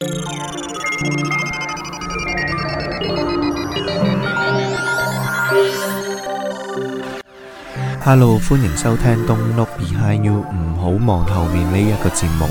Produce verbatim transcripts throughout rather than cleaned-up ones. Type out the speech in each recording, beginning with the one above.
Hello， 歡迎收聽 Don't Look Behind You， 唔好望後面呢一個節目。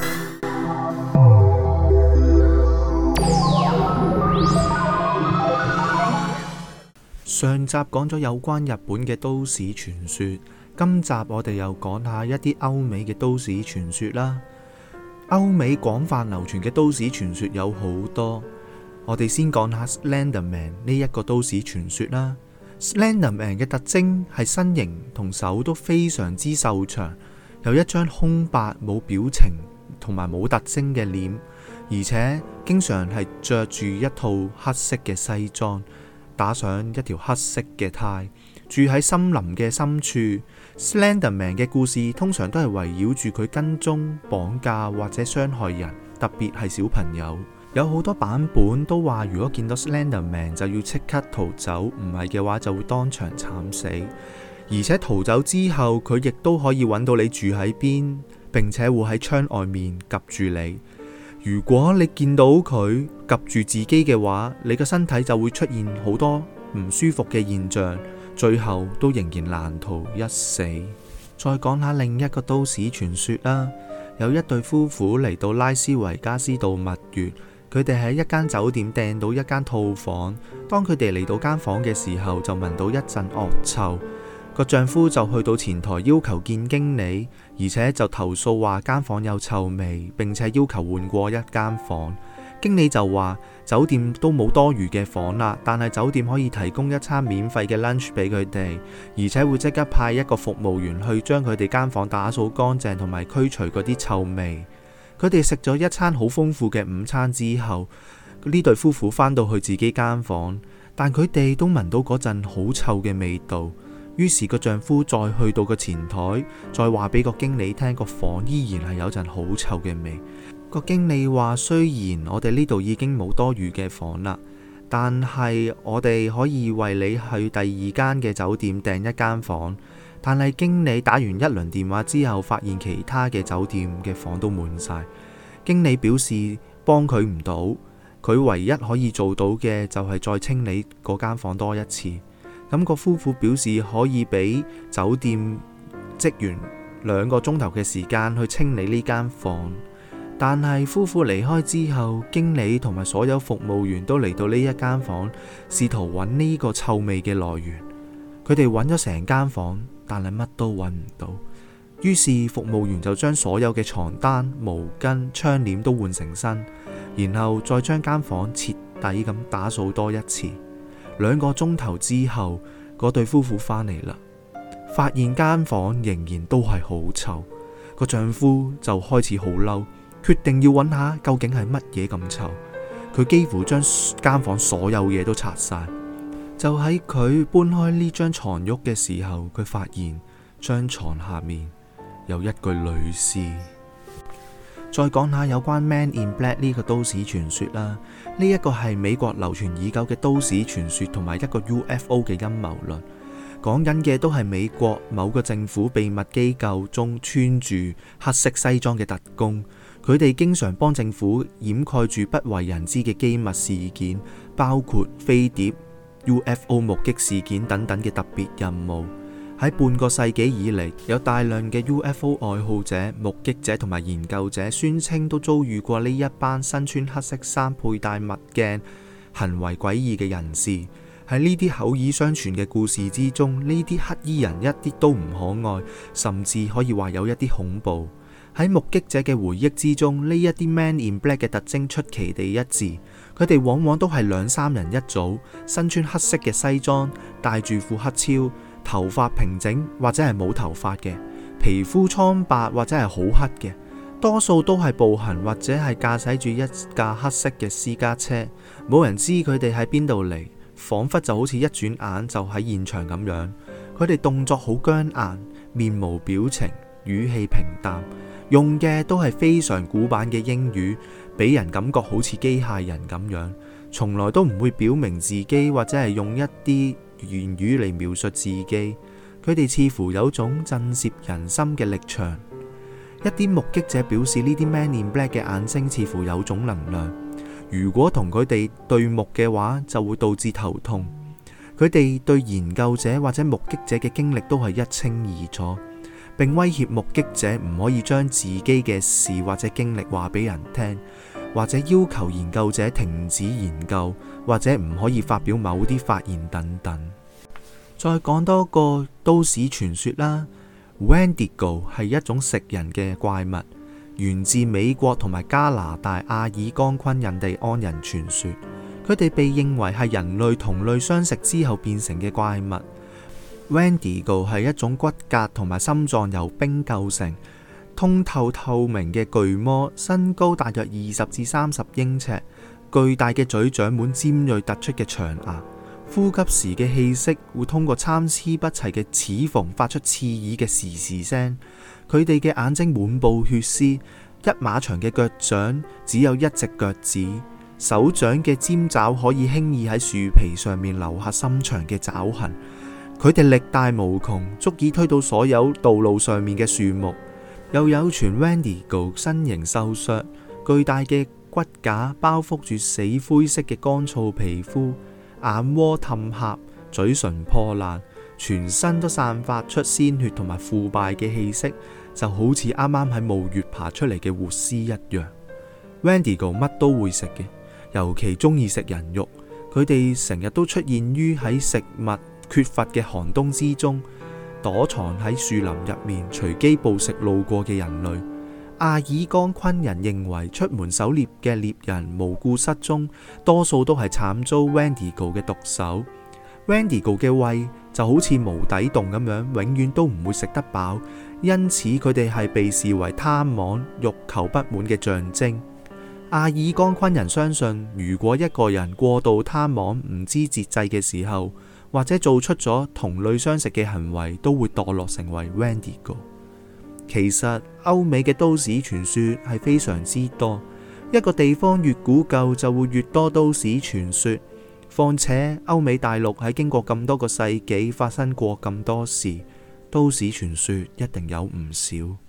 上集講咗有關日本嘅都市傳說，今集我哋又講下一啲歐美嘅都市傳說啦。歐美廣泛流傳嘅都市傳說有好多，我哋先講下 Slender Man 呢一個都市傳說啦。Slender Man 嘅特徵係身形同手都非常之瘦長，有一張空白冇表情同埋冇特徵嘅臉，而且經常係着住一套黑色嘅西裝，打上一條黑色嘅呔，住喺森林嘅深處。Slender Man 嘅故事通常都係圍繞住佢跟蹤、綁架或者傷害人，特別係小朋友。有好多版本都話，如果見到 Slender Man 就要即刻逃走，唔係嘅話就會當場慘死。而且逃走之後，佢亦都可以揾到你住喺邊，並且會喺窗外面夾住你。如果你見到佢夾住自己嘅話，你個身體就會出現好多唔舒服嘅現象，最後都仍然難逃一死。再講下另一個都市傳說啦，有一對夫婦嚟到拉斯維加斯度蜜月。佢哋喺一間酒店訂到一間套房，當佢哋嚟到間房嘅時候，就聞到一陣惡臭。個丈夫就去到前台要求見經理，而且就投訴話間房有臭味，並且要求換過一間房。經理就話酒店都冇多餘嘅房啦，但係酒店可以提供一餐免費嘅 lunch 俾佢哋，而且會即刻派一個服務員去將佢哋間房打掃乾淨同埋驅除嗰啲臭味。佢哋食咗一餐好豐富嘅午餐之後，呢對夫婦返到去自己間房，但佢哋都聞到嗰陣好臭嘅味道。於是個丈夫再去到個前台，再話俾個經理聽，個房依然係有陣好臭嘅味。個經理話，雖然我哋呢度已經冇多餘嘅房啦，但係我哋可以為你去第二間嘅酒店訂一間房。但係經理打完一輪電話之後，發現其他嘅酒店嘅房都滿晒。經理表示幫佢唔到，佢唯一可以做到嘅就係再清理嗰間房多一次。咁個夫婦表示可以俾酒店職員兩個鐘頭嘅時間去清理呢間房。但係夫婦離開之後，經理同埋所有服務員都嚟到呢一間房，試圖揾呢個臭味嘅來源。佢哋揾咗成間房，但係乜都揾唔到。於是服務員就將所有嘅床單、毛巾、窗簾都換成新，然後再將間房徹底咁打掃多一次。兩個鐘頭之後，嗰對夫婦返嚟啦，發現間房仍然都係好臭。個丈夫就開始好嬲，決定要揾下究竟係乜嘢咁臭。佢幾乎將間房所有嘢都拆晒。就喺佢搬開呢張床褥嘅時候，佢發現張床下面有一具女屍。再講下有關 Man in Black 呢個都市傳說啦，呢一個係美國流傳已久嘅都市傳說同埋一個 U F O 嘅陰謀論，講緊嘅都係美國某個政府秘密機構中穿住黑色西裝嘅特工，佢哋經常幫政府掩蓋住不為人知嘅機密事件，包括飛碟、U F O 目擊事件等等嘅特別任務。喺半個世紀以嚟，有大量嘅 U F O 愛好者、目擊者同埋研究者宣稱都遭遇過呢一班身穿黑色衫、佩戴墨鏡、行為詭異嘅人士。喺呢啲口耳相傳嘅故事之中，呢啲黑衣人一啲都唔可愛，甚至可以話有一啲恐怖。喺目擊者嘅回憶之中，呢一啲 Man in Black 嘅特徵出奇地一致，佢哋往往都係兩三人一組，身穿黑色嘅西裝，戴住副黑超，頭髮平整或者係冇頭髮嘅，皮膚蒼白或者係好黑嘅，多數都係步行或者係駕駛住一架黑色嘅私家車，冇人知佢哋喺邊度嚟，仿佛就好似一轉眼就喺現場咁樣。佢哋動作好僵硬，面無表情，語氣平淡，用嘅都係非常古板嘅英語，俾人感覺好似機械人咁樣，從來都唔會表明自己或者係用一啲言語嚟描述自己。佢哋似乎有種震懾人心嘅力場。 一啲目擊者表示，呢啲 Man in Black 嘅眼睛似乎有種能量，如果同佢哋對目嘅話，就會導致頭痛。佢哋對研究者或者目擊者嘅經歷都係一清二楚，並威脅目擊者唔可以將自己嘅事或者經歷話俾人聽，或者要求研究者停止研究，或者唔可以發表某啲發言等等。再講多個都市傳說啦。Wendigo 係一種食人嘅怪物，源自美國同埋加拿大阿爾岡昆印第安人傳說。佢哋被認為係人類同類相食之後變成嘅怪物。Wendigo 係一種骨骼同埋心臟由冰構成、通透透明嘅巨魔，身高大約二十至三十英尺，巨大嘅嘴長滿尖銳突出嘅長牙。呼吸時嘅氣息會通過參差不齊嘅齒縫發出刺耳嘅時時聲。佢哋嘅眼睛滿布血絲，一碼長嘅腳掌只有一隻腳趾，手掌嘅尖爪可以輕易喺樹皮上面留下深長嘅爪痕。佢哋力大無窮，足以推倒所有道路上面嘅樹木。又有傳 Wendigo 身形瘦削，巨大嘅骨架包覆住死灰色嘅乾燥皮膚。眼窩氹狹，嘴唇破爛，全身都散發出鮮血同埋腐敗嘅氣息，就好似啱啱喺墓穴爬出嚟嘅活屍一樣。Wendigo 乜都會食嘅，尤其中意食人肉。佢哋成日都出現於喺食物缺乏嘅寒冬之中，躲藏喺樹林入面，隨機捕食路過嘅人類。阿爾岡昆人認為出門狩獵嘅獵人無故失蹤，多數都係慘遭 Wendigo 嘅毒手。Wendigo 嘅胃就好似無底洞咁樣，永遠都唔會食得飽，因此佢哋係被視為貪妄、欲求不滿嘅象徵。阿爾岡昆人相信，如果一個人過度貪妄、唔知節制嘅時候，或者做出咗同類相食嘅行為，都會墮落成為 Wendigo。其實歐美嘅都市傳說係非常之多，一個地方越古舊就會越多都市傳說。況且歐美大陸喺經過咁多個世紀發生過咁多事，都市傳說一定有唔少。